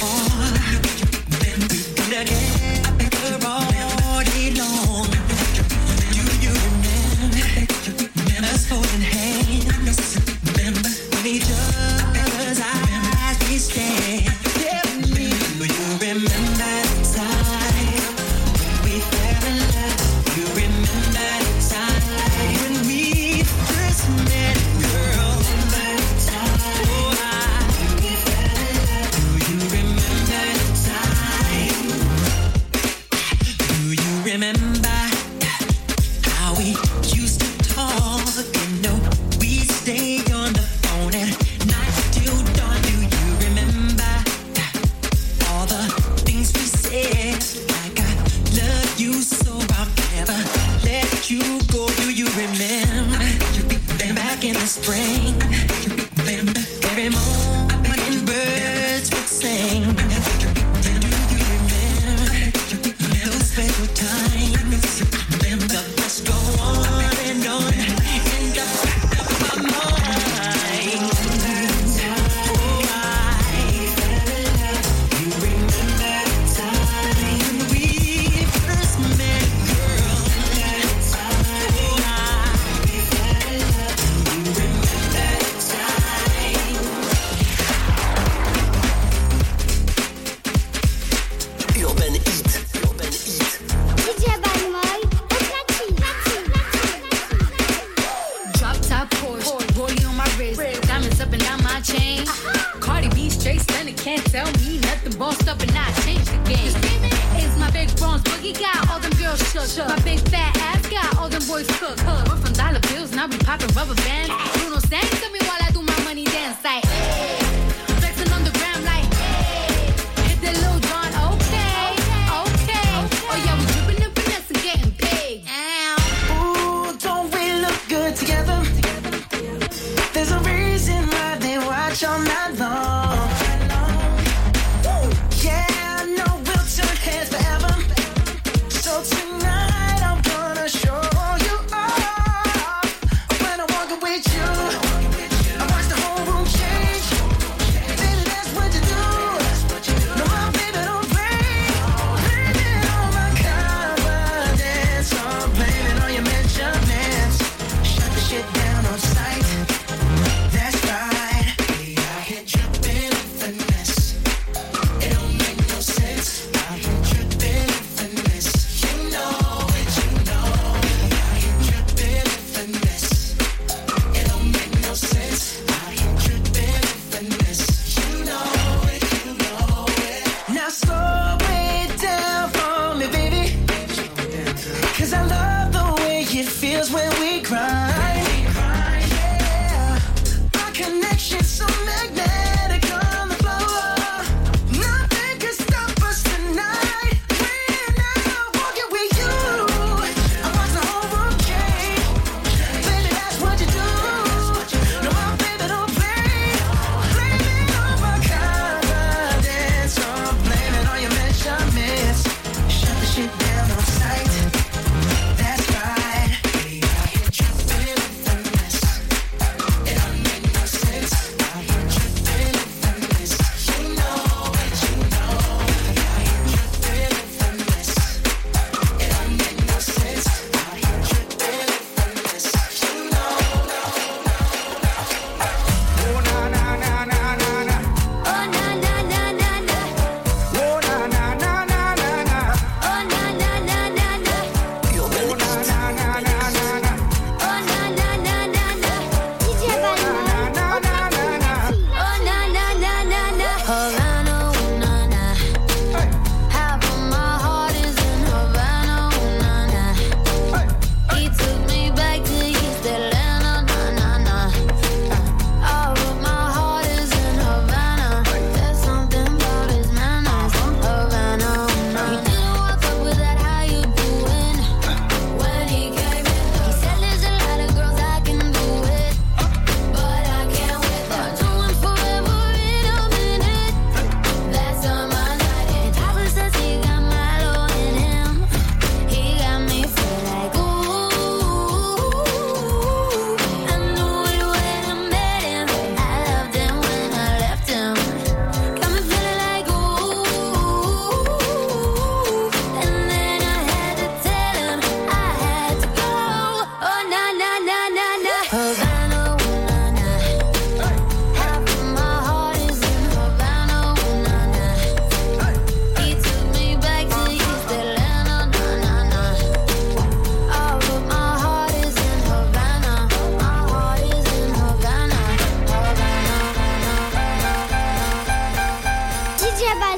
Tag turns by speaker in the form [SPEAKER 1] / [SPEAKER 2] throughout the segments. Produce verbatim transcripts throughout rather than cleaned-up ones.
[SPEAKER 1] With you, I watch the whole room change.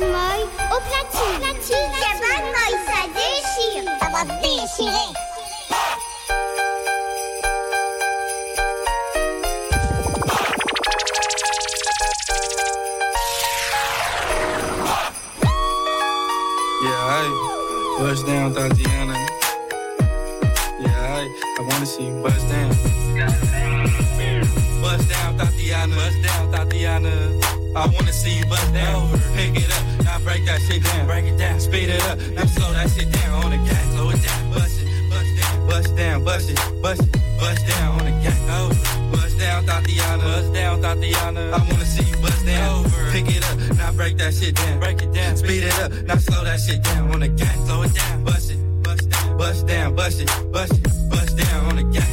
[SPEAKER 1] Moy au platine. platine. C'est Bad Moy, ça déchire. Ça va déchirer.
[SPEAKER 2] Yeah, hey, bust down, Tatiana. Yeah, hey, I wanna see you bust down. Bust down, Tatiana. Bust down, Tatiana. I wanna see you bust down. Pick it up, now break that shit down. Break it down, speed it up, now slow that shit down on the gas. Slow it down, bust it, bust down, bust down, bust it, bust it, bust down on the gas. Bust down, Tatiana. Bust down, Tatiana. I wanna see you bust down. Pick it up, now break that shit down. Break it down, speed it up, now slow that shit down on the gas. Slow it down, bust it, bust down, bust down, bust it, bust it, bust down on the gas.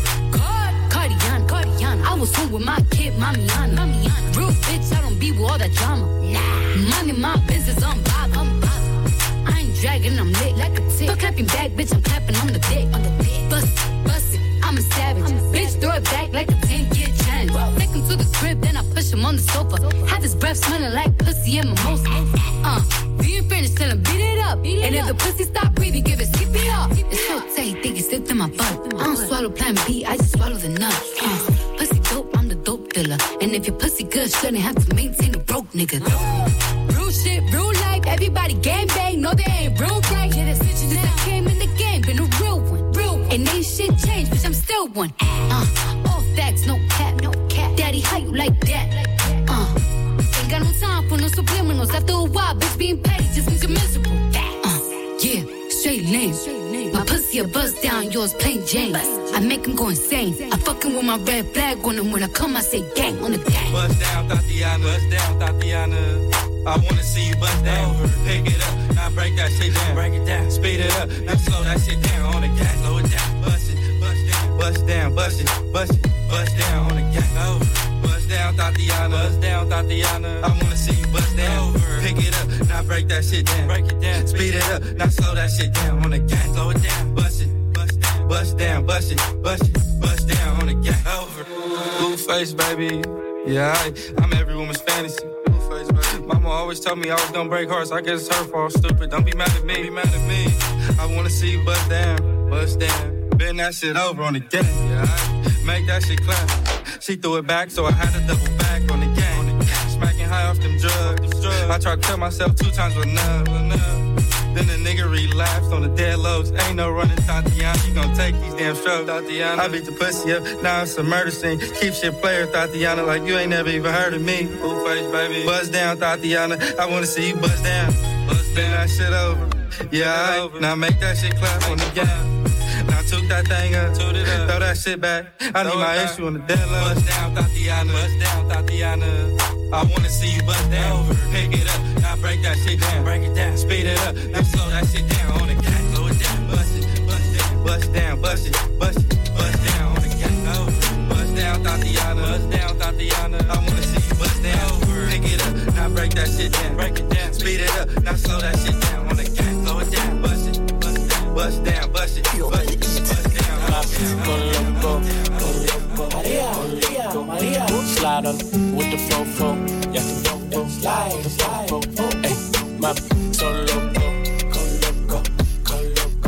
[SPEAKER 3] Cardiana, Cardiana. I was home with my kid, Mamiana. Mamiana. Real bitch, I don't be with all that drama. Nah. Money, my business, I'm bob, I'm bob. I ain't dragging, I'm lit like a tick. Still clapping back, bitch, I'm clapping on the dick. On the dick. Bust it, bust it, I'm a savage. I'm a bitch, savage. Throw it back like a ten-year challenge. Whoa. Take him to the crib, then I push him on the sofa. sofa. Have his breath smelling like pussy and mimosa. Uh, being finished, tell him beat it up. Beat it and up. If the pussy stop breathing, give it C P R. It's so tight, think it slipped in my butt. I don't swallow plan B, I just swallow the nut. Uh, pussy dope, I'm the dope dealer. And if your pussy good, shouldn't have to maintain a broke nigga. Real shit, real life, everybody gang bang, no they ain't real right. Yeah, that's it, since I came in the game, been a real one. Real one. And ain't shit changed, bitch, I'm still one. Uh, all facts, no cap, no cap. Daddy, how you like that? Uh, ain't got no time for no subliminals. After a while, bitch, being petty just means you're miserable. Uh, yeah, straight lane. My pussy a bust down, yours plain Jane. I make him go insane. I fucking with my red flag on him. When I come, I say gang on the gang.
[SPEAKER 2] Bust down, Tatiana. Bust down, Tatiana. I wanna see you bust down. Pick it up, now break that shit down. Break it down, speed it up, now slow that shit down on the gas. Slow it down, bust it, bust down, bust down, bust it, bust it, bust down on the gas. Bust down, Tatiana. Bust down, Tatiana. I wanna see you bust down. Pick it up, now break that shit down. Break it down, speed it up, now slow that shit down on the gas. Slow it down, bust it, bust down, bust down, bust it, bust it, bust down on the gas. Blue face, baby. Yeah, I, I'm every woman's fantasy. Mama always told me I was gonna break hearts. I guess it's her fault, stupid. Don't be mad at me, be mad at me. I wanna see you bust down, bust down. Bend that shit over on the gas, yeah. I make that shit clap. She threw it back, so I had to double back on the game. Smacking high off them drugs. I tried to tell myself two times was enough, enough. Then the nigga relapsed on the dead lows. Ain't no running, Tatiana. You gon' take these damn strokes, Tatiana. I beat the pussy up, now it's a murder scene. Keep shit player, Tatiana, like you ain't never even heard of me. Blue face, baby. Buzz down, Tatiana. I wanna see you buzz down. Buzz down, that shit over. Yeah, over. Now make that shit clap on the game. Now took that thing up, toot it up, throw that shit back. I need my issue on the dead low. Buzz down, Tatiana. Buzz down, Tatiana. I wanna see you bust down. Pick it up, now break that shit down. Break it down, speed it up, now slow that shit down on the gas. Slow it down, bust it, bust down, bust down, bust it, bust it, bust down on the gas. Bust down, Tatiana. Bust down, Tatiana. I wanna see you bust down. Pick it up, now break that shit down. Break it down, speed it up, now slow that shit down on the gas. Slow it down, bust it, bust down, bust down, bust it, bust it, bust down.
[SPEAKER 4] Go loco, go loco, Maria, go Maria. Slide on with the fofo, yeah, yeah, slide, slide, fofo. Hey, my so loco, go loco, go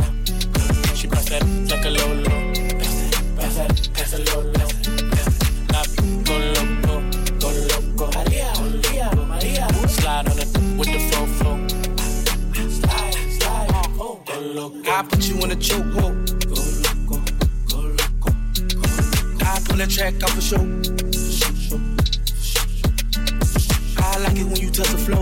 [SPEAKER 4] loco. She pass that like a lolo, pass that, pass that lolo. Go loco, go loco, Maria, Maria, Maria. Slide on it with the fofo, slide, slide, oh, go loco. I put you in a chokehold. I pull that track off a show. I like it when you touch the flow.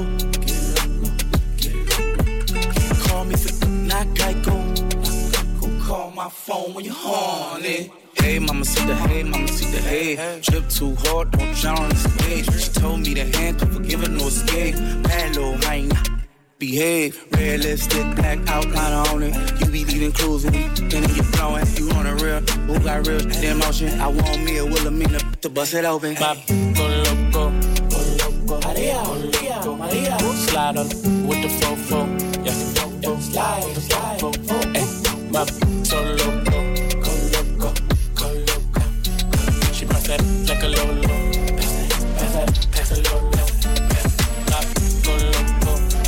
[SPEAKER 4] Call me for not Geico. Call my phone when you're horny. Hey, mama, see the hey, mama, see the hey. Trip too hard, don't drown on the stage. She told me the hand could forgive her, no escape. Bad little hyena. Behave, red lipstick, black outline on it. You be leaving clues and then you blowing. You on a real, who got real emotion? I want me a Wilhelmina to bust it open. Bop, go loco, go loco, Maria, Maria, Maria. Slide on with the fofo, yeah, yeah, slide, slide, fofo. Hey, bop, so loco, go loco, go loco. She pass that like a lolo, pass that, pass that, pass that lolo. Bop, go loco.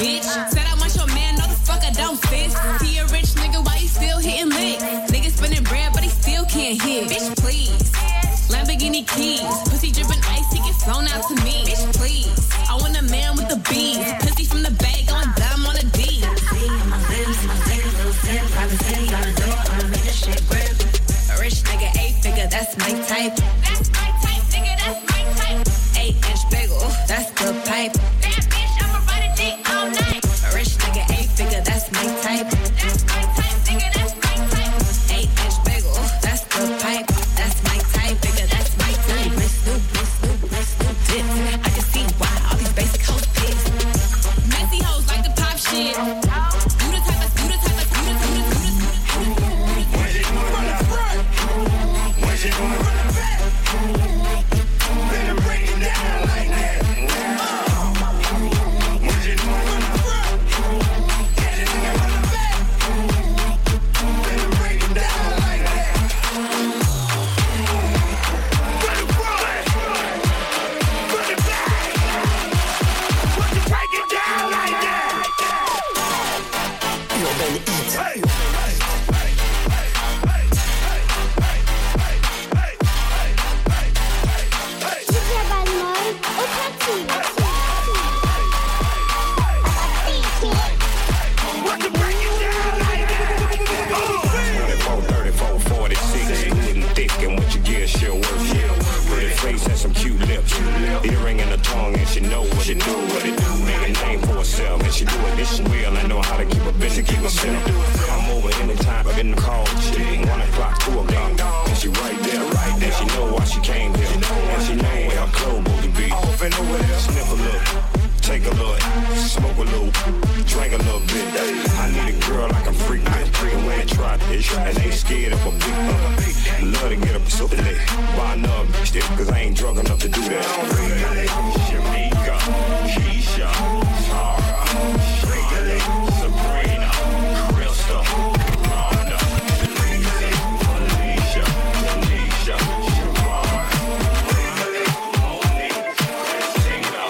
[SPEAKER 5] bitch. Said I want your man, no the fuck I don't, sis. He a rich nigga, why he still hitting licks? Nigga spinning bread, but he still can't hit. Bitch, please. Lamborghini keys, pussy dripping ice, he get flown out to me. Bitch, please. I want a man with the bees, pussy from the bag, going dumb on a D. My lips, my fingers, little sip, privacy on the door, I'ma make this shit grip. A rich nigga, eight figure, that's my type. That's my type, nigga, that's my type. Eight inch bagel, that's the pipe. Bad bitch, I'ma ride a dick all night. A rich nigga, eight figure, that's my type. That's my type, nigga, that's my type. Eight inch bagel, that's the pipe. That's my type, nigga, that's my type. Wrist new, wrist new, wrist new dip. I can see why all these basic hoes pissed. Messy hoes like to pop shit. You the type of, you the type of, you the, you the, you the, you the, you the. When she gonna run the front? When she gonna run the back? Better break it down like that. When she gonna run the front? When she gonna run the back? Better break it down like that. Run the front. Run the back. When you break it down like that. You're gonna eat. Hey. Some cute lips, earring in her tongue, and she know what it do, what it do. Make a name for herself, and she do it this real. I know how to keep a bitch and keep herself. I'm over anytime, I'm in the call. She one o'clock, two o'clock, and she right there, right there. She know why she came here, and she know where her clothes supposed to be. Sniff a little, take a look, smoke a little, drink a little bit. I need a girl like I'm freak with, and when they try this, and they scared of a big uh, love to get up so lit. Buy another bitch there, cause I ain't drunk enough to do that. Shamika, Keisha, Tara, Shirley, Sabrina, Crystal, Rhonda, Lisa, Alicia, Tanisha, Siobhan, Monique, Christina,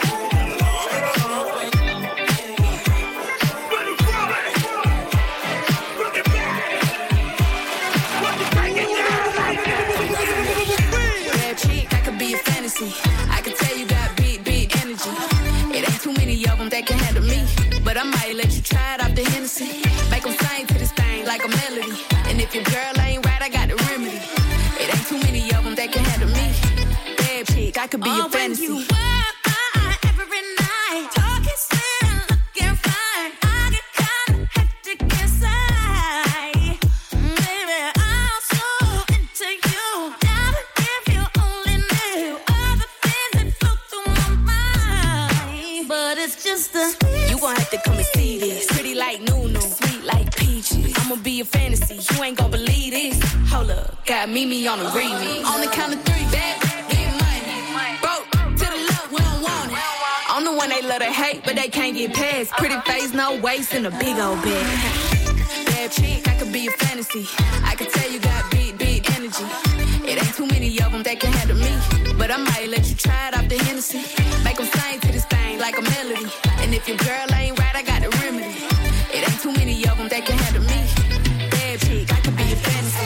[SPEAKER 5] I can tell you got big, big energy. It ain't too many of them that can handle me. But I might let you try it off the Hennessy. Make them sing to this thing like a melody. And if your girl ain't right, I got the remedy. It ain't too many of them that can handle me. Bad chick, I could be oh, your fantasy. When you wear my every night, talking sweet, looking fine. I get kinda hectic inside. Baby, I'm so into you. Now if you only knew all the things that flow through my mind. But it's just a you gon' have to come and see this. Pretty like Nunu, sweet like peaches. I'ma be a fantasy, you ain't gon' believe this. Hold up, got Mimi on the remix. On the count of three, bad, get money. Broke to the left, we don't want it. I'm the one they love to hate, but they can't get past. Pretty face, no waist, and a big old bag. Bad chick, I could be a fantasy. I could tell you got big, big energy. It ain't too many of them that can handle me. But I might let you try it off the Hennessy. Make them sing to this thing like a melody. And if your girl ain't right, I got the remedy. It ain't too many of them that can handle me. Bad chick, I could be a fantasy.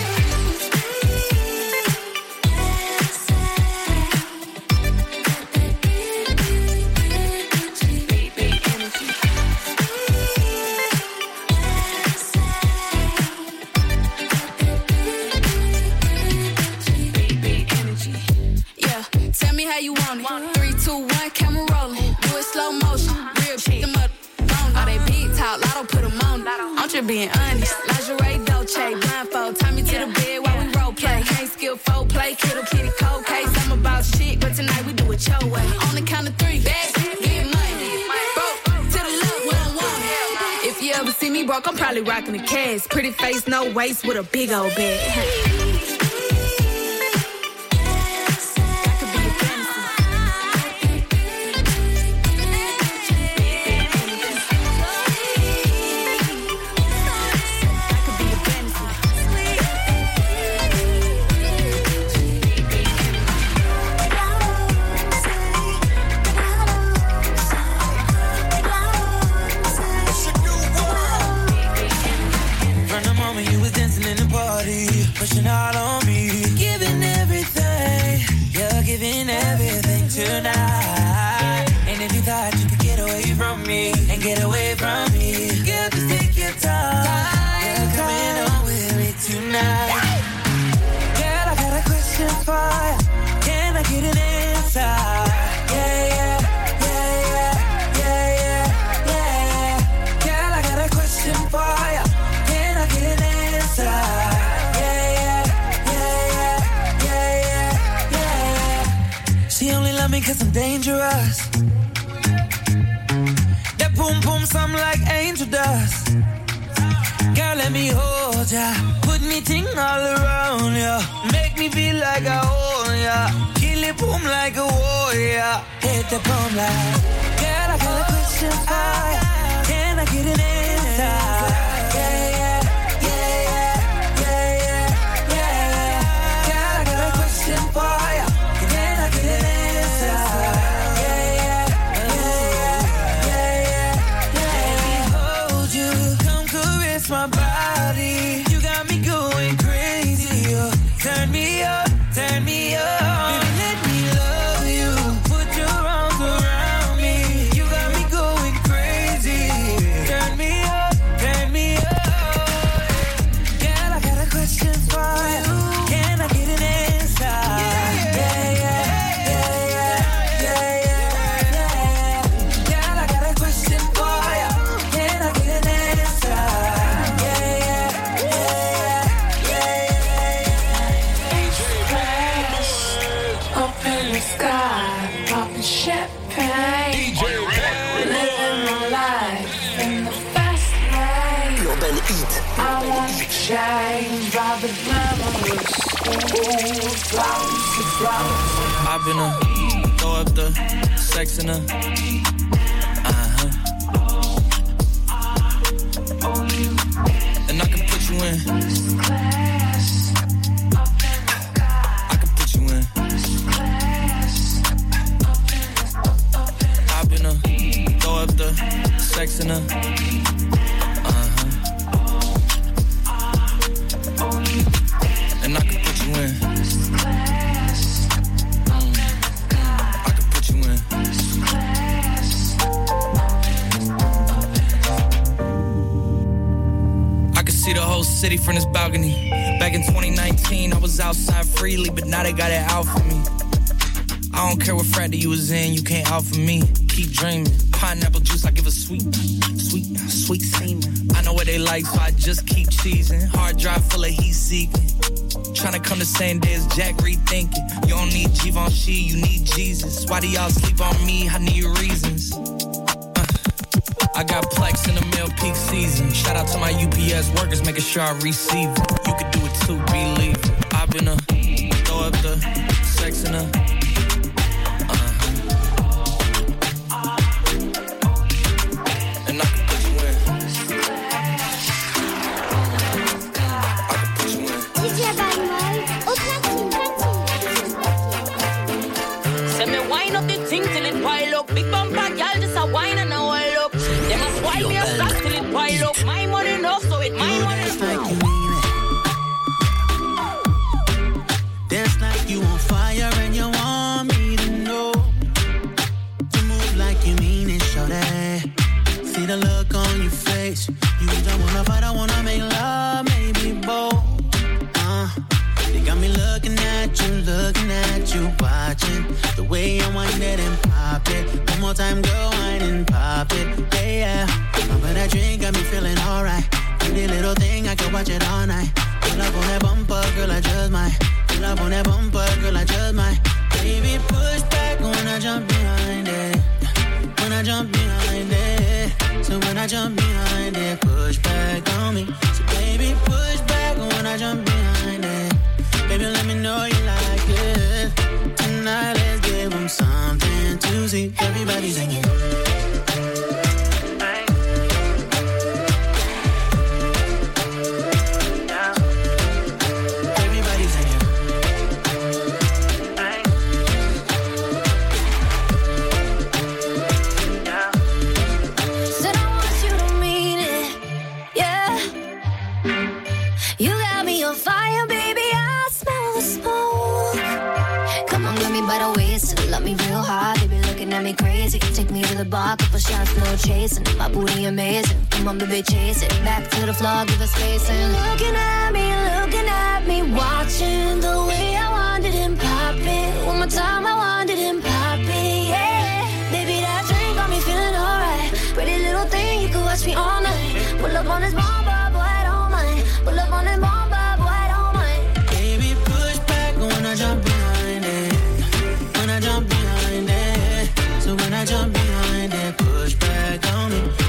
[SPEAKER 5] How you want it? Three, two, one, camera rolling. Do it slow motion. Real shit. Them up on all they big talk. Lotto put them on. I'm just being honest. Lingerie, Dolce, blindfold. Tie me to the bed while we role play. Can't skill folk play. Kittle kitty cold case. I'm about shit, but tonight we do it your way. On the count of three, bad get money. Broke to the left, we don't want it. If you ever see me broke, I'm probably rocking the cash. Pretty face, no waist, with a big old bag.
[SPEAKER 6] boom boom some like angel dust. Girl, let me hold ya. Put me ting all around ya. Make me feel like I own ya. Kill it boom like a warrior. Hit the boom like. Girl, I got a question for ya. Can I get an answer? Yeah, yeah, yeah, yeah, yeah, yeah, yeah. Girl, I got a question for ya. Can I get an answer? Yeah, yeah, yeah, yeah, yeah. Let me hold you. Come caress my body. You got me going crazy. Oh. Turn me up, turn me up. Baby, let me love you. Put your arms around me. You got me going crazy. Turn me up, turn me up. Girl, I got a question for you. Can I get an answer? Yeah, yeah, yeah, yeah, yeah, yeah, yeah. Girl, I got a question for you. Can I get an answer? Yeah, yeah, yeah, yeah, yeah.
[SPEAKER 7] Up in the sky, popping champagne, living my life in the fast lane.
[SPEAKER 8] Urban Heat.
[SPEAKER 7] I want to change by the glamorous school, flowers and flowers.
[SPEAKER 6] I've been a throw up the sex in a uh-huh. And I can put you in. I can put you in. I've been a throw up the sex in a uh-huh. And I can put you in. See the whole city from this balcony. Back in twenty nineteen, I was outside freely, but now they got it out for me. I don't care what frat you was in, you can't out for me. Keep dreaming. Pineapple juice, I give a sweet, sweet, sweet semen. I know what they like, so I just keep cheesing. Hard drive full of heat seeking. Tryna come the same day as Jack rethinking. You don't need Givenchy, you need Jesus. Why do y'all sleep on me? I need reasons. I got Plex in the mail peak season. Shout out to my U P S workers, making sure I receive it. You could do it too, believe it. I've been a throw up the sex in a uh-huh. And I can put you in. I can put you in.
[SPEAKER 1] D J Bad au platine, platine.
[SPEAKER 9] Say me wind up the thing till it pile up. Big bumper girl just a wine and a wall up. They must wind me a stop till it pile up. My money enough, so it my money enough.
[SPEAKER 10] Like you mean it. Dance like you on fire and you want me to know. You move like you mean it, shorty. See the look on your face. You don't wanna fight, I wanna make love, maybe both. Uh, they got me looking at you, looking at you, watching the way I wind it and pop it. One more time, girl, wind and pop it. Yeah, yeah. But that drink got me feeling alright. Pretty little thing, I can watch it all night. Pull up on that bumper, girl, I just might. Pull up on that bumper, girl, I just might. Baby, push back when I jump behind it. When I jump behind it. So when I jump behind it, push back on me. So baby, push back when I jump behind it. Baby, let me know you like it. Tonight, let's give them something to see. Everybody singing.
[SPEAKER 11] Me crazy, take me to the bar, couple shots, no chasing. My booty amazing, come on baby, chase it. Back to the floor, give us space and looking at me, looking at me, watching the way I wanted him pop it. One more time, I wanted him pop it, yeah. Baby, that drink got me feeling alright. Pretty little thing, you could watch me all night. Pull up on this bomba, boy, I don't mind. Pull up on this bomba, boy, I don't mind.
[SPEAKER 10] Baby, push back when I jump behind it. When I jump behind it. So when I jump behind it, push back on me.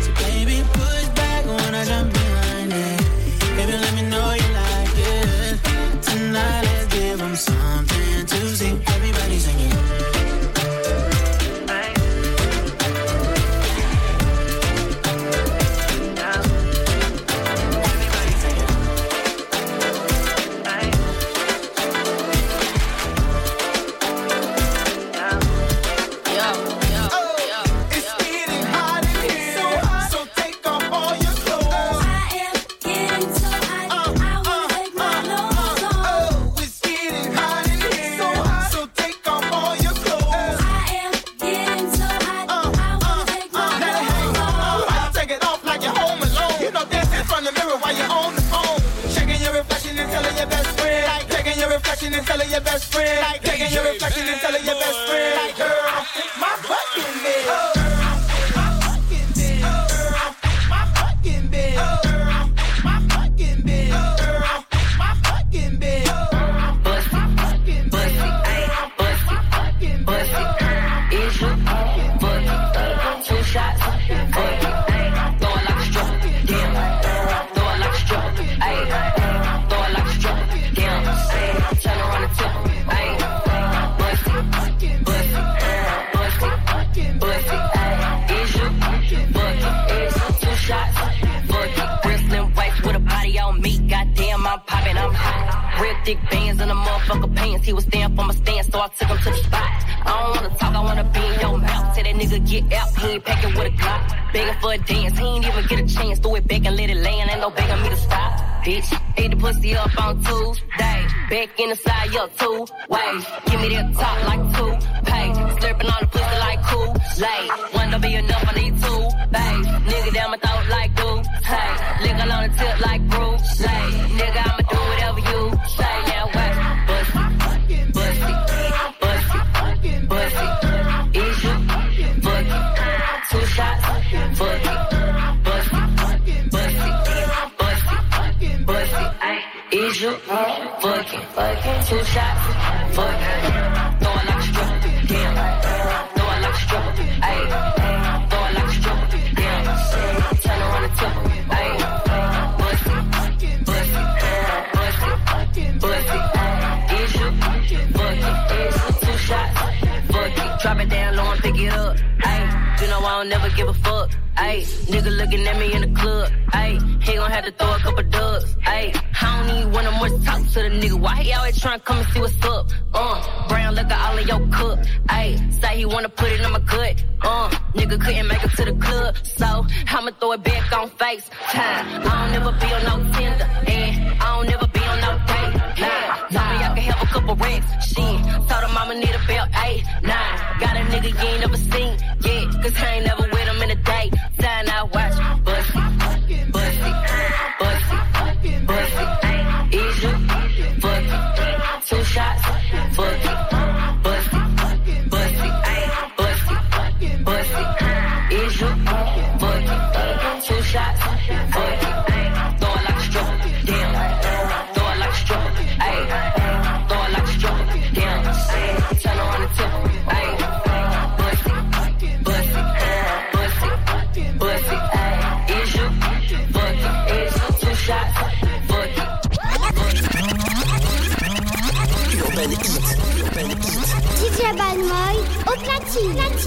[SPEAKER 8] telling your best friend. Like taking your reflection and telling your best friend. Like, girl, my fucking bed. Oh.
[SPEAKER 9] Thick bands in the motherfucker pants. He was staying for my stand, so I took him to the spot. I don't wanna talk, I wanna be in your mouth. Tell that nigga get out, he ain't packing with a Glock. Begging for a dance, he ain't even get a chance. Throw it back and let it land, ain't no begging me to stop. Bitch, ate the pussy up on Tuesday. Back in the side, up two ways. Give me that top like two pay. Slurping on the pussy like Kool-Aid. One don't be enough, I need two bays. Nigga down my throat like dude. Hey, lick on the tip like Bruce Lee. Nigga, I'ma do whatever you say. Now what? Bussy, bussy, bussy, bussy. Is you? Fuck it. Two shots. Fuck it. Bussy, bussy, bussy, bussy. Is you? Fuck it. Two shots. Fuck it. Throw it like a stripper. Damn. Throw it like a stripper. Ayy. Throw it like a stripper. Damn. Turn around and tip her. Ayy. Bussy, bussy, bussy, bussy. Is you? Fuck it. Two shots. Fuck it. Drop it down low and pick it up. Ayy. You know I don't never give a fuck. Ayy. Nigga looking at me in the club. Ayy. He gon' have to throw a couple dubs. Ayy. I don't even wanna more talk to the nigga. Why he always tryna come and see what's up? Uh. Brown liquor all in your cup. Ayy. Say he wanna put it in my gut. Uh. Nigga couldn't make it to the club. So I'ma throw it back on FaceTime. I don't never be on no Tinder. And I don't never be on no date. Nah. Tell me I can have a couple racks. Shit. Told him I'ma need a belt. Eight, nine. Got a nigga you ain't never seen. Yeah. Cause I ain't never with him in a day. Sign out, watch. Bussy. Bussy. Bussy. Bussy. Is you? Fuck it. Two shots. Fuck it. Bussy. Bussy. Bussy. Bussy. Is you? Fuck it. Two shots. Fuck it. Throw it like a stripper. Damn. Throw it like a stripper. Ayy. Throw it like a stripper. Damn. Turn around and tip her. Ayy. Bussy. Bussy. Bussy. Bussy. Is you? Fuck it. Is you? Two shots. Fuck it.
[SPEAKER 1] D J Balmoy au platine.